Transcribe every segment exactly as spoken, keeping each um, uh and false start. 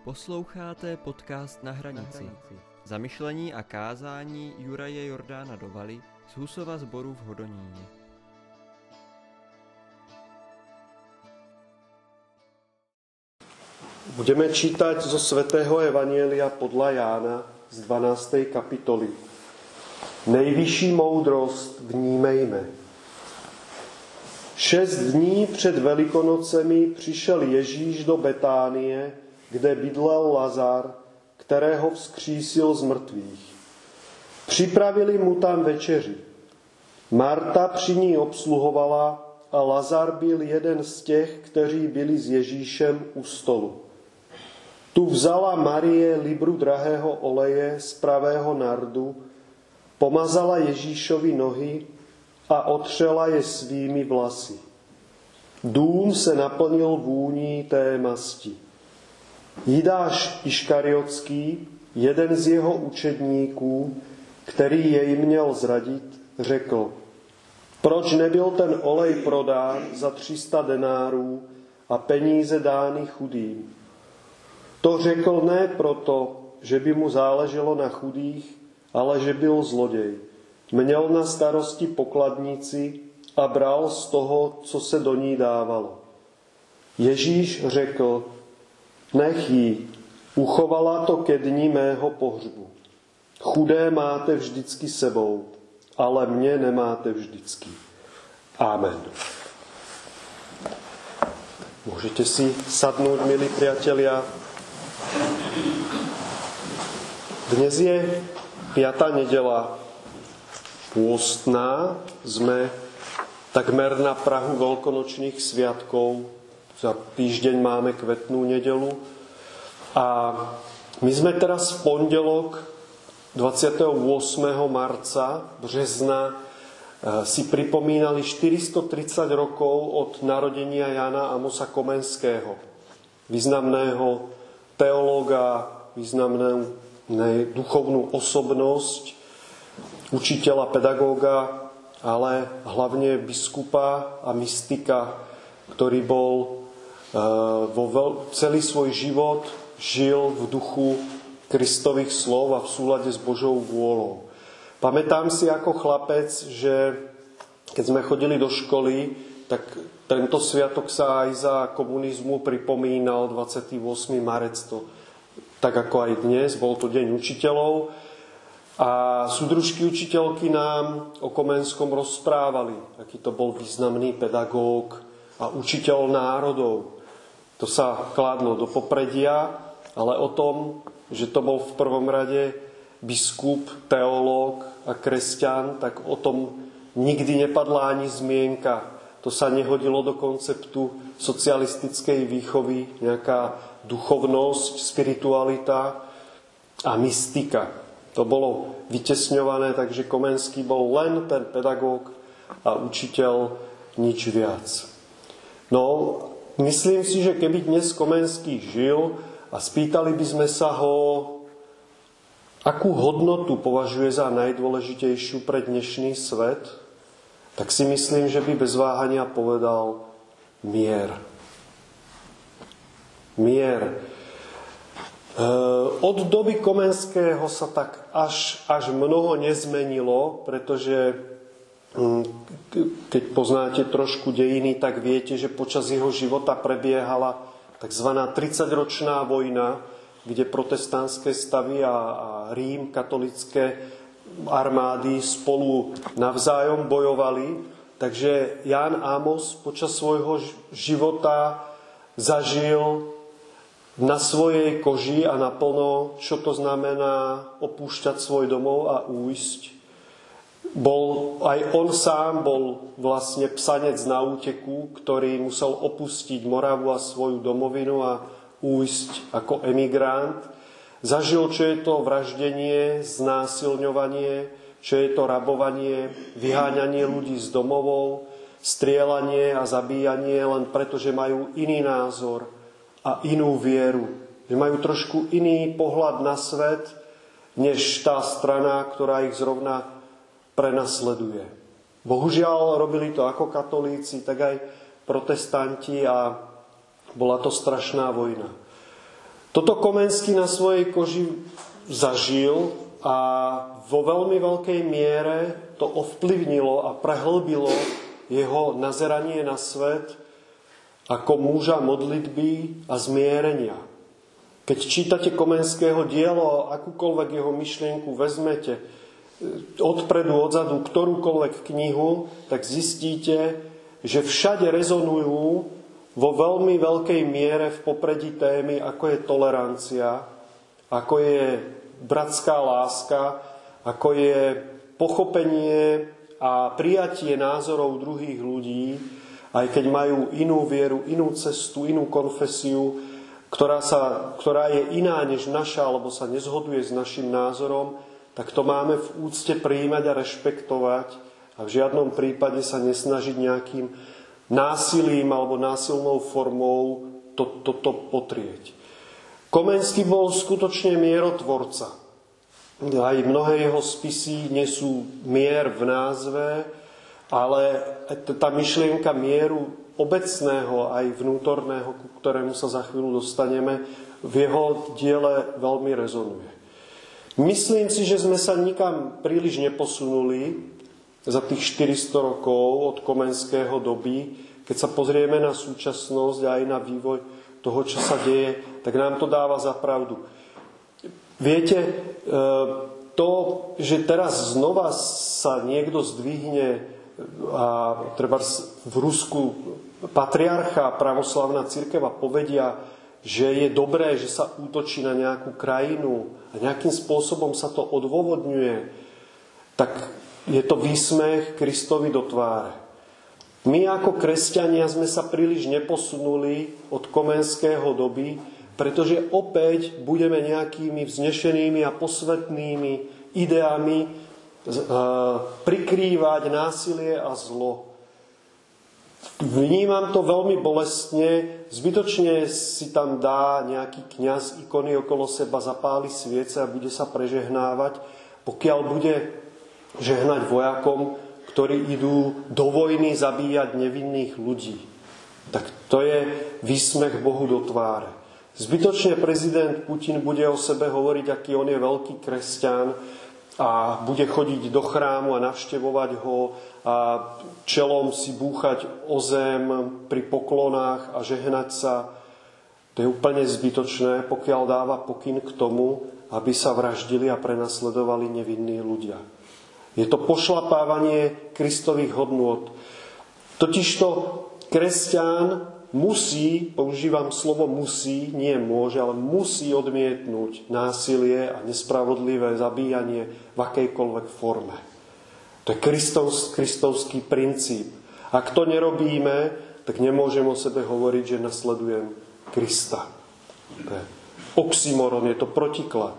Posloucháte podcast Na hranici. Zamyšlení a kázání Juraje Jordána Dovaly z Husova sboru v Hodoníně. Budeme čítať zo svätého Evanjelia podľa Jána z dvanástej kapitoly. Nejvyšší moudrost vnímejme. Šest dní před Velikonocemi přišel Ježíš do Betánie, kde bydlel Lazar, kterého vzkřísil z mrtvých. Připravili mu tam večeři. Marta při ní obsluhovala a Lazar byl jeden z těch, kteří byli s Ježíšem u stolu. Tu vzala Marie libru drahého oleje z pravého nardu, pomazala Ježíšovi nohy a otřela je svými vlasy. Dům se naplnil vůní té masti. Jidáš Iškariotský, jeden z jeho učedníků, který jej měl zradit, řekl: proč nebyl ten olej prodán za tři sta denárů a peníze dány chudým? To řekl ne proto, že by mu záleželo na chudých, ale že byl zloděj. Měl na starosti pokladnici a bral z toho, co se do ní dávalo. Ježíš řekl: nech jí, uchovala to ke dni mého pohřbu. Chudé máte vždycky sebou, ale mě nemáte vždycky. Amen. Môžete si sadnúť, milí priatelia. Dnes je piata nedeľa pôstná. Sme takmer na prahu veľkonočných sviatkov. Za týždeň máme kvetnú nedeľu. A my sme teraz v pondelok dvadsiateho ôsmeho marca, března, si pripomínali štyristotridsať rokov od narodenia Jana Amosa Komenského, významného teológa, významnú duchovnú osobnosť, učiteľa, pedagóga, ale hlavne biskupa a mystika, ktorý bol vo veľ... celý svoj život žil v duchu Kristových slov a v súlade s Božou vôľou. Pamätám si ako chlapec, že keď sme chodili do školy, tak tento sviatok sa aj za komunizmu pripomínal dvadsiateho ôsmeho marca. To, tak ako aj dnes, bol to deň učiteľov. A súdružky učiteľky nám o Komenskom rozprávali, aký to bol významný pedagóg a učiteľ národov. To sa kládlo do popredia, ale o tom, že to bol v prvom rade biskup, teológ a kresťan, tak o tom nikdy nepadla ani zmienka. To sa nehodilo do konceptu socialistickej výchovy, nejaká duchovnosť, spiritualita a mystika. To bolo vytesňované, takže Komenský bol len ten pedagóg a učiteľ, nič viac. No, myslím si, že keby dnes Komenský žil a spýtali by sme sa ho, akú hodnotu považuje za najdôležitejšiu pre dnešný svet, tak si myslím, že by bez váhania povedal mier. Mier. Od doby Komenského sa tak až, až mnoho nezmenilo, pretože keď poznáte trošku dejiny, tak viete, že počas jeho života prebiehala takzvaná tridsaťročná vojna, kde protestantské stavy a, a Rím, katolické armády spolu navzájom bojovali. Takže Ján Amos počas svojho života zažil na svojej koži a naplno, čo to znamená opúšťať svoj domov a újsť. Bol, aj on sám bol vlastne psanec na úteku, ktorý musel opustiť Moravu a svoju domovinu a újsť ako emigrant. Zažil, čo je to vraždenie, znásilňovanie, čo je to rabovanie, vyháňanie ľudí z domovov, strieľanie a zabíjanie len preto, že majú iný názor a inú vieru. Že majú trošku iný pohľad na svet, než tá strana, ktorá ich zrovna prenasleduje. Bohužiaľ, robili to ako katolíci, tak aj protestanti a bola to strašná vojna. Toto Komenský na svojej koži zažil a vo veľmi veľkej miere to ovplyvnilo a prehlbilo jeho nazeranie na svet ako muža modlitby a zmierenia. Keď čítate Komenského dielo, akúkoľvek jeho myšlienku vezmete, odpredu, odzadu, ktorúkoľvek knihu, tak zistíte, že všade rezonujú vo veľmi veľkej miere v popredí témy, ako je tolerancia, ako je bratská láska, ako je pochopenie a prijatie názorov druhých ľudí, aj keď majú inú vieru, inú cestu, inú konfesiu, ktorá, sa, ktorá je iná než naša, alebo sa nezhoduje s našim názorom, tak to máme v úcte prijímať a rešpektovať a v žiadnom prípade sa nesnažiť nejakým násilím alebo násilnou formou toto to, to potrieť. Komenský bol skutočne mierotvorca. Aj mnohé jeho spisy nesú mier v názve, ale tá myšlienka mieru obecného aj vnútorného, ku ktorému sa za chvíľu dostaneme, v jeho diele veľmi rezonuje. Myslím si, že sme sa nikam príliš neposunuli za tých štyristo rokov od Komenského doby. Keď sa pozrieme na súčasnosť a aj na vývoj toho, čo sa deje, tak nám to dáva za pravdu. Viete, to, že teraz znova sa niekto zdvihne a treba v Rusku patriarcha pravoslavná cirkev a povedia, že je dobré, že sa útočí na nejakú krajinu a nejakým spôsobom sa to odôvodňuje, tak je to výsmech Kristovi do tváre. My ako kresťania sme sa príliš neposunuli od Komenského doby, pretože opäť budeme nejakými vznešenými a posvetnými ideami prikrývať násilie a zlo. Vnímam to veľmi bolestne, zbytočne si tam dá nejaký kňaz ikony okolo seba, zapáli sviece a bude sa prežehnávať, pokiaľ bude žehnať vojakom, ktorí idú do vojny zabíjať nevinných ľudí. Tak to je výsmech Bohu do tváre. Zbytočne prezident Putin bude o sebe hovoriť, aký on je veľký kresťan a bude chodiť do chrámu a navštevovať ho a čelom si búchať o zem pri poklonách a žehnať sa. To je úplne zbytočné, pokiaľ dáva pokyn k tomu, aby sa vraždili a prenasledovali nevinní ľudia. Je to pošlapávanie Kristových hodnôt. Totižto kresťan musí, používam slovo musí, nie môže, ale musí odmietnúť násilie a nespravodlivé zabíjanie v akejkoľvek forme. To je Kristovs, kristovský princíp. Ak to nerobíme, tak nemôžem o sebe hovoriť, že nasledujem Krista. To je oxymoron, je to protiklad.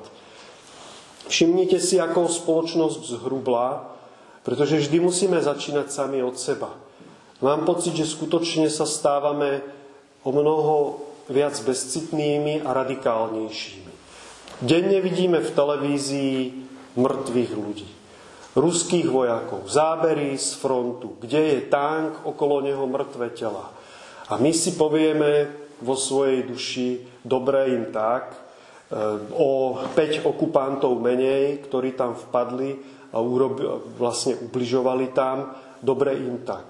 Všimnite si, ako spoločnosť zhrubla, pretože vždy musíme začínať sami od seba. Mám pocit, že skutočne sa stávame o mnoho viac bezcitnými a radikálnejšími. Denne vidíme v televízii mŕtvych ľudí. Ruských vojakov, zábery z frontu, kde je tank, okolo neho mŕtve tela. A my si povieme vo svojej duši, dobre im tak, o päť okupantov menej, ktorí tam vpadli a urobi, vlastne ubližovali tam, dobre im tak.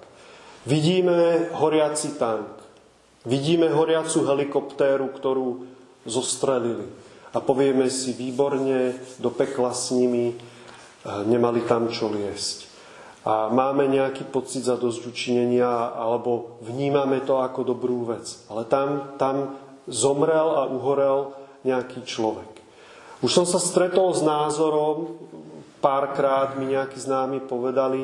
Vidíme horiaci tank, vidíme horiacu helikoptéru, ktorú zostrelili a povieme si výborne, do pekla s nimi, nemali tam čo liesť. A máme nejaký pocit zadozučinenia alebo vnímame to ako dobrú vec. Ale tam, tam zomrel a uhorel nejaký človek. Už som sa stretol s názorom, párkrát mi nejakí známi povedali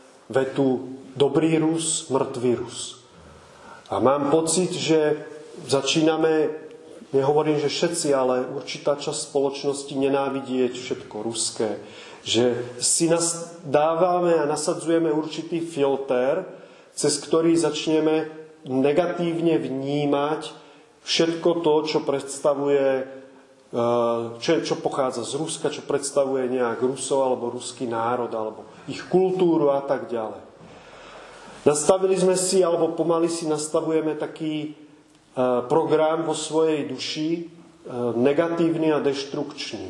vetu dobrý Rus, mŕtvý Rus. A mám pocit, že začíname, nehovorím, že všetci, ale určitá časť spoločnosti nenávidieť všetko ruské. Že si nás dávame a nasadzujeme určitý filter, cez ktorý začneme negatívne vnímať všetko to, čo predstavuje, čo, čo pochádza z Ruska, čo predstavuje nejak Rusov alebo ruský národ, alebo ich kultúru a tak ďalej. Nastavili sme si, alebo pomaly si nastavujeme taký program vo svojej duši, negatívny a deštrukčný.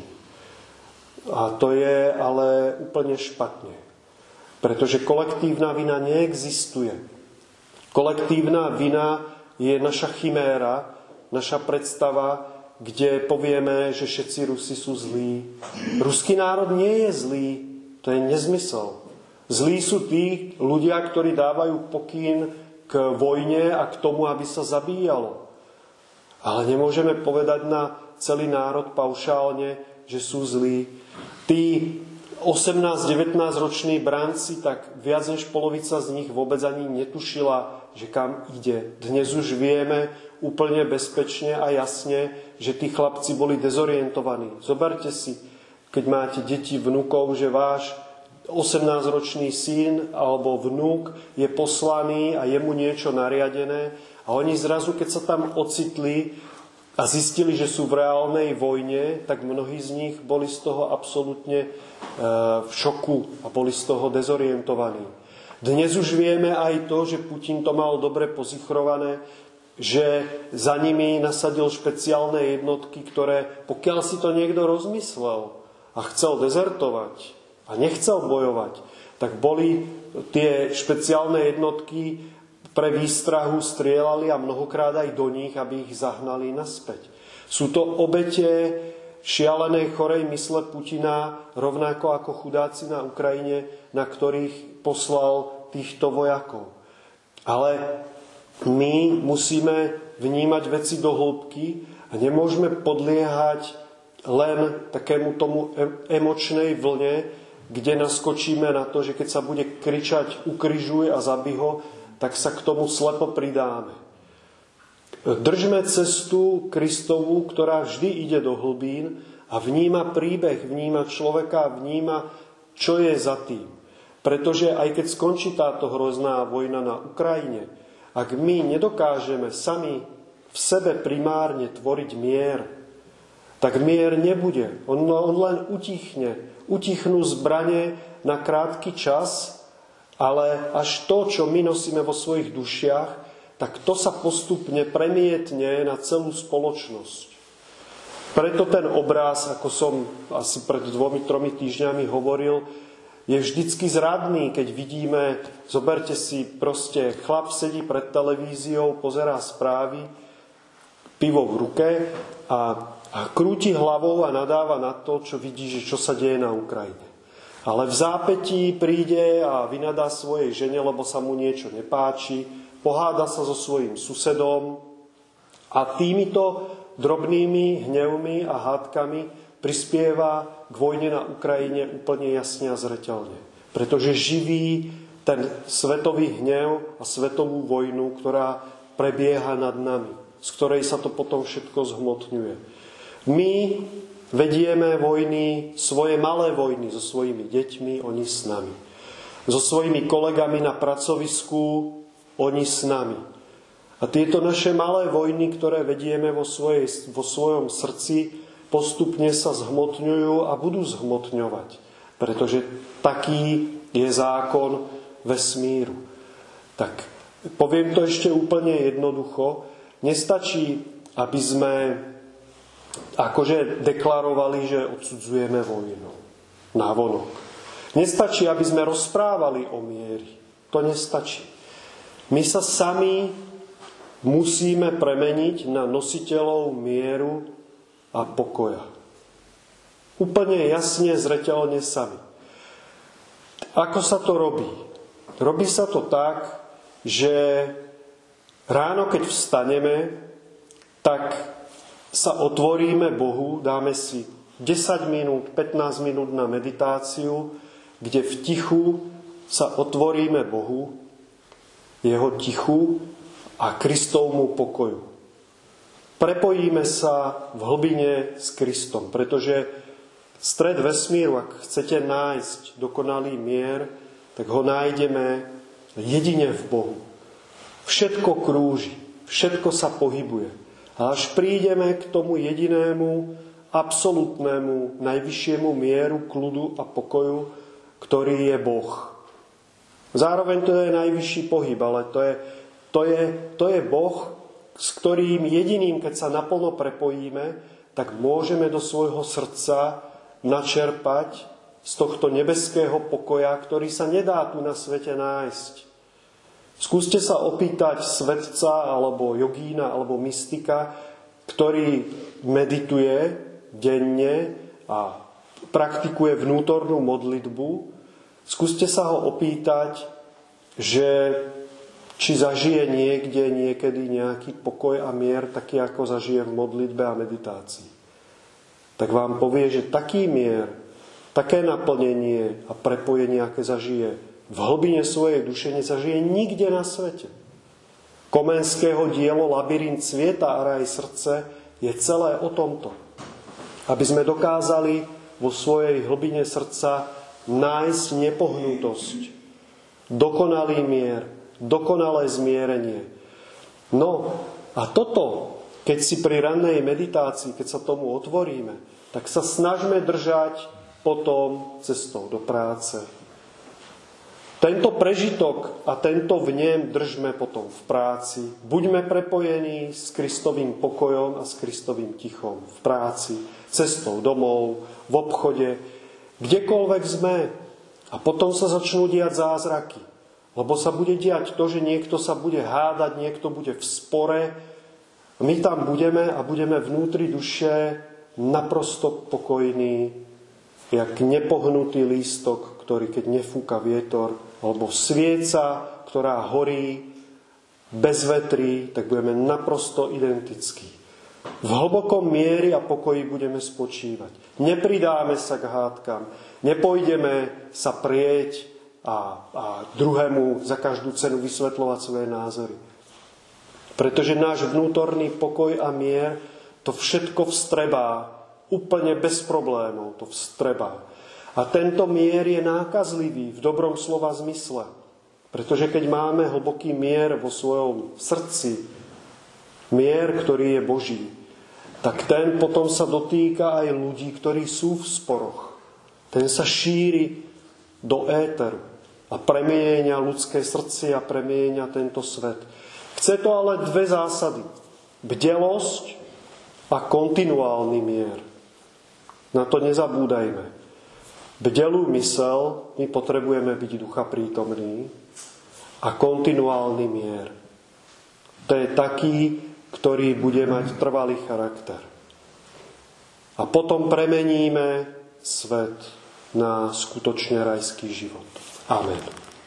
A to je ale úplne špatne. Pretože kolektívna vina neexistuje. Kolektívna vina je naša chiméra, naša predstava, kde povieme, že všetci Rusi sú zlí. Ruský národ nie je zlý. To je nezmysel. Zlí sú tí ľudia, ktorí dávajú pokyn k vojne a k tomu, aby sa zabíjalo. Ale nemôžeme povedať na celý národ paušálne, že sú zlí. Tí osemnásť devätnásť roční branci, tak viac než polovica z nich vôbec ani netušila, že kam ide. Dnes už vieme úplne bezpečne a jasne, že tí chlapci boli dezorientovaní. Zoberte si, keď máte deti, vnukov, že váš osemnásťročný syn alebo vnuk je poslaný a je mu niečo nariadené a oni zrazu, keď sa tam ocitli a zistili, že sú v reálnej vojne, tak mnohí z nich boli z toho absolútne v šoku a boli z toho dezorientovaní. Dnes už vieme aj to, že Putin to mal dobre pozichrované, že za nimi nasadil špeciálne jednotky, ktoré, pokiaľ si to niekto rozmyslel a chcel dezertovať a nechcel bojovať, tak boli tie špeciálne jednotky pre výstrahu strieľali a mnohokrát aj do nich, aby ich zahnali naspäť. Sú to obete šialenej chorej mysle Putina, rovnako ako chudáci na Ukrajine, na ktorých poslal týchto vojakov. Ale my musíme vnímať veci do hĺbky a nemôžeme podliehať len takému tomu emočnej vlne, kde naskočíme na to, že keď sa bude kričať ukrižuj a zabij ho, tak sa k tomu slepo pridáme. Držme cestu Kristovú, ktorá vždy ide do hlbín a vníma príbeh, vníma človeka, vníma, čo je za tým. Pretože aj keď skončí táto hrozná vojna na Ukrajine, ak my nedokážeme sami v sebe primárne tvoriť mier, tak mier nebude. On, on len utichne. Utichnú zbrane na krátky čas, ale až to, čo my nosíme vo svojich dušiach, tak to sa postupne premietne na celú spoločnosť. Preto ten obraz, ako som asi pred dvomi, tromi týždňami hovoril, je vždycky zradný, keď vidíme, zoberte si, proste chlap sedí pred televíziou, pozerá správy, pivo v ruke a, a krúti hlavou a nadáva na to, čo vidí, že čo sa deje na Ukrajine. Ale v zápätí príde a vynadá svojej žene, lebo sa mu niečo nepáči, poháda sa so svojím susedom a týmito drobnými hnevmi a hádkami prispieva k vojne na Ukrajine úplne jasne a zreteľne. Pretože živí ten svetový hnev a svetovú vojnu, ktorá prebieha nad nami, z ktorej sa to potom všetko zhmotňuje. My vedieme vojny, svoje malé vojny so svojimi deťmi, oni s nami. So svojimi kolegami na pracovisku, oni s nami. A tieto naše malé vojny, ktoré vedieme vo, svojej, vo svojom srdci, postupne sa zhmotňujú a budú zhmotňovať. Pretože taký je zákon vesmíru. Tak poviem to ešte úplne jednoducho. Nestačí, aby sme akože deklarovali, že odsudzujeme vojnu navonok. Nestačí, aby sme rozprávali o miery. To nestačí. My sa sami musíme premeniť na nositeľov mieru a pokoja. Úplne jasne, zreteľne sami. Ako sa to robí? Robí sa to tak, že ráno, keď vstaneme, tak sa otvoríme Bohu, dáme si desať minút, pätnásť minút na meditáciu, kde v tichu sa otvoríme Bohu, jeho tichu a Kristovmu pokoju. Prepojíme sa v hlbine s Kristom, pretože stred vesmíru, ak chcete nájsť dokonalý mier, tak ho nájdeme jedine v Bohu. Všetko krúži, všetko sa pohybuje. A až prídeme k tomu jedinému, absolútnemu, najvyššiemu mieru, kľudu a pokoju, ktorý je Boh. Zároveň to je najvyšší pohyb, ale to je, to je, to je Boh, s ktorým jediným, keď sa naplno prepojíme, tak môžeme do svojho srdca načerpať z tohto nebeského pokoja, ktorý sa nedá tu na svete nájsť. Skúste sa opýtať svetca, alebo jogína, alebo mystika, ktorý medituje denne a praktikuje vnútornú modlitbu. Skúste sa ho opýtať, že či zažije niekde, niekedy nejaký pokoj a mier, taký ako zažije v modlitbe a meditácii. Tak vám povie, že taký mier, také naplnenie a prepojenie, aké zažije v hlbine svojej duše, nezažije nikde na svete. Komenského dielo Labyrint sveta a raj srdce je celé o tomto. Aby sme dokázali vo svojej hlbine srdca nájsť nepohnutosť, dokonalý mier, dokonalé zmierenie. No a toto, keď si pri rannej meditácii, keď sa tomu otvoríme, tak sa snažme držať potom cestou do práce. Tento prežitok a tento vnem držme potom v práci. Buďme prepojení s Kristovým pokojom a s Kristovým tichom v práci, cestou domov, v obchode, kdekoľvek sme. A potom sa začnú diať zázraky. Lebo sa bude diať to, že niekto sa bude hádať, niekto bude v spore. My tam budeme a budeme vnútri duše naprosto pokojní, jak nepohnutý lístok, ktorý keď nefúka vietor, alebo svieca, ktorá horí bez vetrí, tak budeme naprosto identickí. V hlbokom miery a pokoji budeme spočívať. Nepridáme sa k hádkam, nepôjdeme sa prieť a, a druhému za každú cenu vysvetľovať svoje názory. Pretože náš vnútorný pokoj a mier to všetko vstrebá, úplne bez problémov to vstrebá. A tento mier je nákazlivý v dobrom slova zmysle. Pretože keď máme hlboký mier vo svojom srdci, mier, ktorý je Boží, tak ten potom sa dotýka aj ľudí, ktorí sú v sporoch. Ten sa šíri do éteru a premieňa ľudské srdce a premieňa tento svet. Chce to ale dve zásady. Bdelosť a kontinuálny mier. Na to nezabúdajme. Bdelú mysel my potrebujeme byť ducha prítomný a kontinuálny mier. To je taký, ktorý bude mať trvalý charakter. A potom premeníme svet na skutočne rajský život. Amen.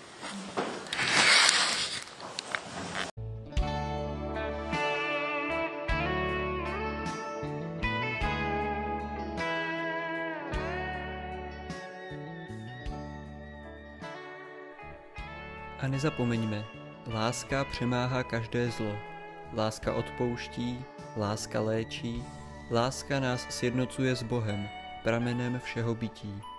A nezapomeňme, láska přemáhá každé zlo. Láska odpouští, láska léčí, láska nás sjednocuje s Bohem, pramenem všeho bytí.